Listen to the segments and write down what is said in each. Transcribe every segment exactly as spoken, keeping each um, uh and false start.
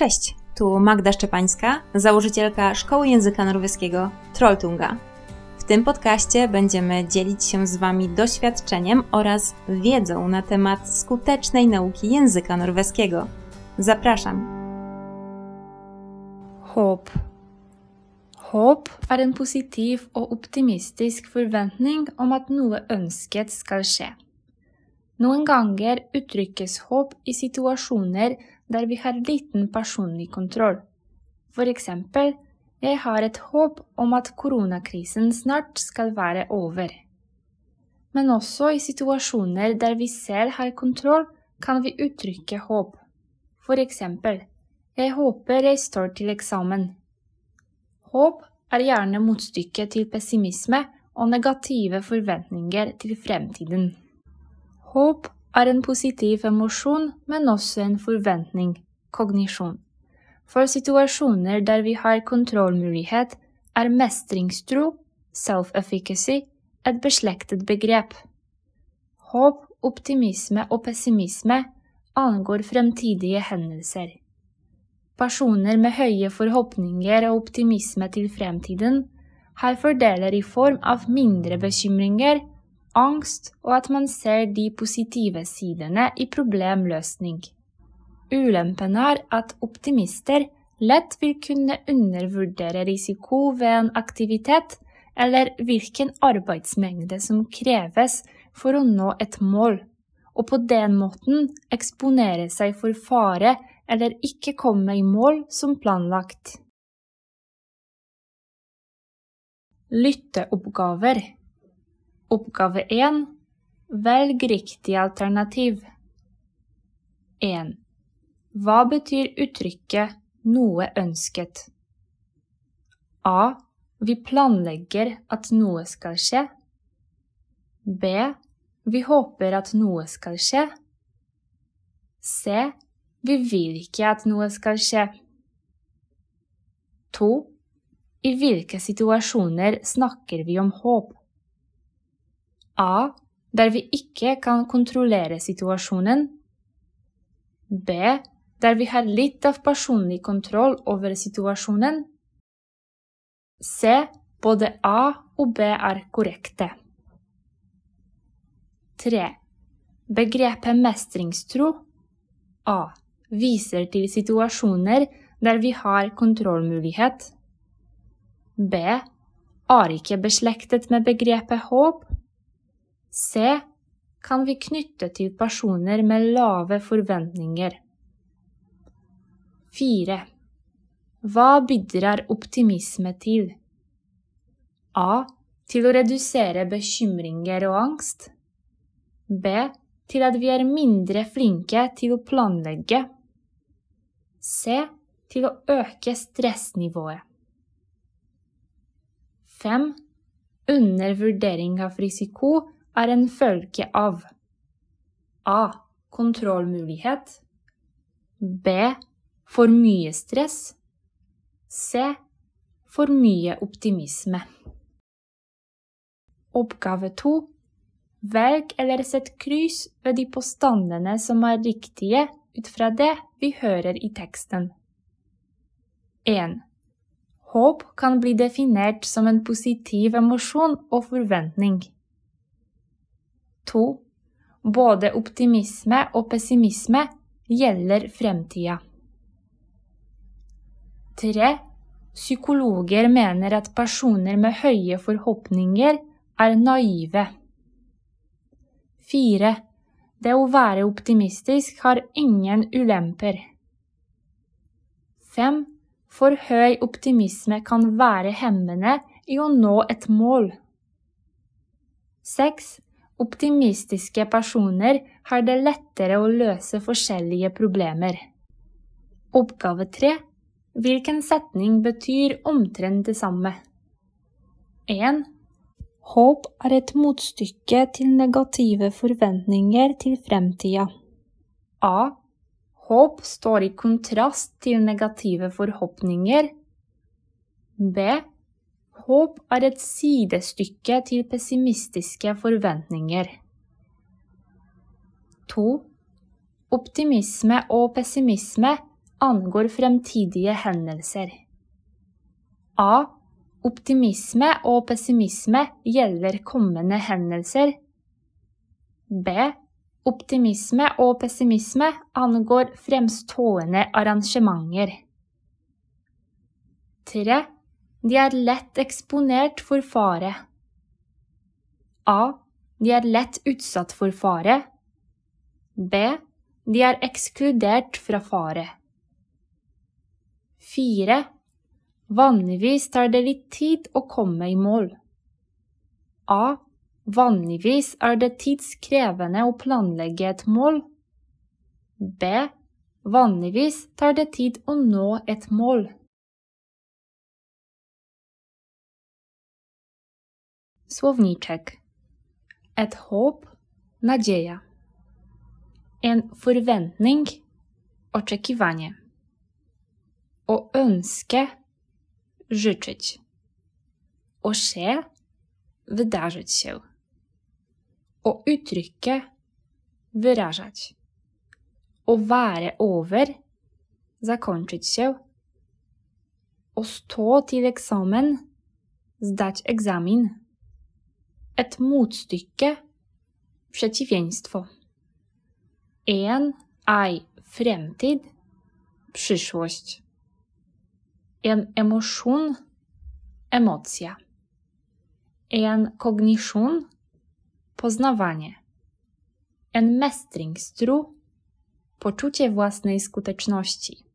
Cześć, tu Magda Szczepańska, założycielka Szkoły Języka Norweskiego Trolltunga. W tym podcaście będziemy dzielić się z Wami doświadczeniem oraz wiedzą na temat skutecznej nauki języka norweskiego. Zapraszam! Håp. Håp er en positiv og optimistisk forventning om at noe ønsket skal skje. Noen ganger uttrykkes håp i situasjoner der vi har liten personlig kontroll. For eksempel, jeg har et håp om at koronakrisen snart skal være over. Men også i situasjoner der vi selv har kontroll, kan vi uttrykke håp. For eksempel, jeg håper jeg står til eksamen. Håp er gjerne motstykket til pessimisme og negative forventninger til fremtiden. Håp er en positiv emosjon, men også en forventning, kognisjon. For situasjoner der vi har kontrollmulighet, er mestringstro, self-efficacy, et beslektet begrep. Håp, optimisme og pessimisme angår fremtidige hendelser. Personer med høye forhåpninger og optimisme til fremtiden har fordeler i form av mindre bekymringer, angst og at man ser de positive sidene i problemløsning. Ulempen er at optimister lett vil kunne undervurdere risiko ved en aktivitet eller hvilken arbeidsmengde som kreves for å nå et mål, og på den måten eksponere seg for fare eller ikke komme i mål som planlagt. Lytteoppgaver. Oppgave én. Velg riktig alternativ. en. Hva betyr uttrykket noe ønsket? A. Vi planlegger at noe skal skje. B. Vi håper at noe skal skje. C. Vi vil ikke at noe skal skje. to. I hvilke situasjoner snakker vi om håp? A. Der vi ikke kan kontrollere situasjonen. B. Der vi har litt av personlig kontroll over situasjonen. C. Både A og B er korrekte. tre. Begrepet mestringstro. A. Viser til situasjoner der vi har kontrollmulighet. B. Er ikke beslektet med begrepet håp. C. Kan vi knytte til personer med lave forventninger. fire. Hva bidrar optimisme til? A. Til å redusere bekymringer og angst. B. Til at vi er mindre flinke til å planlegge. C. Til å øke stressnivået. fem. Undervurdering av risiko er en følge av A. Kontrollmulighet. B. For mye stress. C. For mye optimisme. Oppgave to. Velg eller sett kryss ved de påstandene som er riktige ut fra det vi hører i teksten. en. Håp kan bli definert som en positiv emosjon og forventning. to. Både optimisme og pessimisme gjelder fremtida. tre. Psykologer mener at personer med høye forhåpninger er naive. fire. Det å være optimistisk har ingen ulemper. fem. For høy optimisme kan være hemmende i å nå et mål. seks. Optimistiske personer har det lettere å løse forskjellige problemer. Oppgave tre. Hvilken setning betyr omtrent det samme? en. Håp er et motstykke til negative forventninger til fremtida. A. Håp står i kontrast til negative forhåpninger. B. Håp er et sidestykke til pessimistiske forventninger. to. Optimisme og pessimisme angår fremtidige hendelser. A. Optimisme og pessimisme gjelder kommende hendelser. B. Optimisme og pessimisme angår fremstående arrangementer. tre. De er lett eksponert for fare. A. De er lett utsatt for fare. B. De er ekskludert fra fare. fire. Vanligvis tar det litt tid å komme i mål. A. Vanligvis er det tidskrevende å planlegge et mål. B. Vanligvis tar det tid å nå et mål. Słowniczek. Et håp, nadzieja. En forventning, oczekiwanie. Å ønske, życzyć. Å skje, wydarzyć się. Å uttrykke, wyrażać. Å være over, zakończyć się. Å stå til eksamen, zdać egzamin. Et motstykke, przeciwieństwo. En, ei, fremtid, przyszłość. En emosjon, emocja. En kognisjon, poznawanie. En mestringstro, poczucie własnej skuteczności.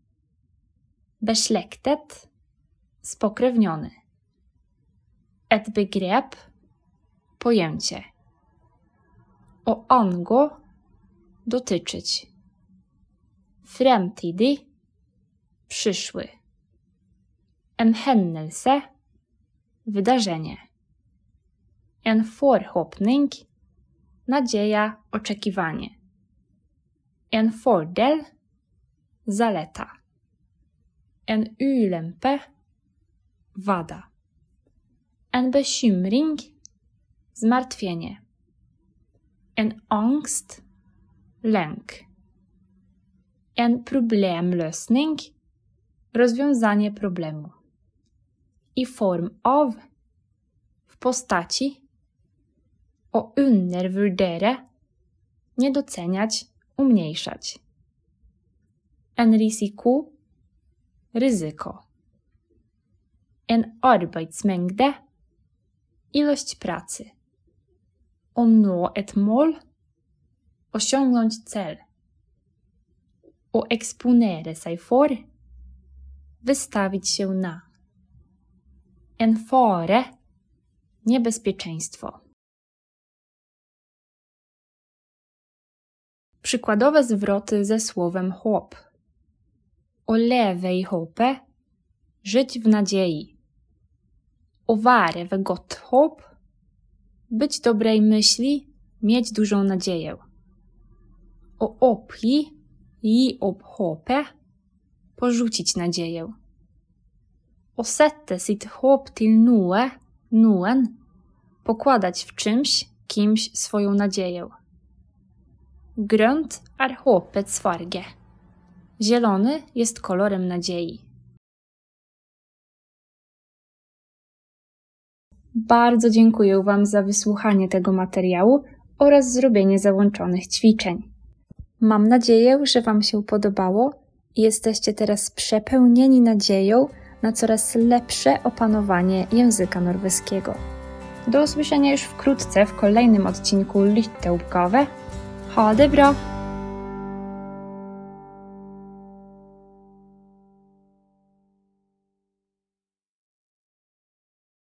Beslektet, spokrewniony. Et begrep, pojęcie. Å angå, dotyczyć. Fremtidig, przyszły. En hendelse, wydarzenie. En forhåpning, nadzieja, oczekiwanie. En fordel, zaleta. En ulempe, wada. En bekymring, zmartwienie. En angst, lęk. En problemløsning, rozwiązanie problemu. I form av, w postaci. Å undervurdere, nie doceniać, umniejszać. En risiko, ryzyko. En arbeidsmengde, ilość pracy. Å nå et mål, osiągnąć cel. Å eksponere seg for, wystawić się na. En fare, niebezpieczeństwo. Przykładowe zwroty ze słowem håp. Å leve i håpet, żyć w nadziei. Å være ved godt håp, być dobrej myśli, mieć dużą nadzieję. Å oppgi, gi opp håpet, porzucić nadzieję. Å sette sitt håp til noe, noen, pokładać w czymś, kimś swoją nadzieję. Grønt er håpets farge. Zielony jest kolorem nadziei. Bardzo dziękuję Wam za wysłuchanie tego materiału oraz zrobienie załączonych ćwiczeń. Mam nadzieję, że Wam się podobało i jesteście teraz przepełnieni nadzieją na coraz lepsze opanowanie języka norweskiego. Do usłyszenia już wkrótce w kolejnym odcinku Lytteoppgave. Ha det bra!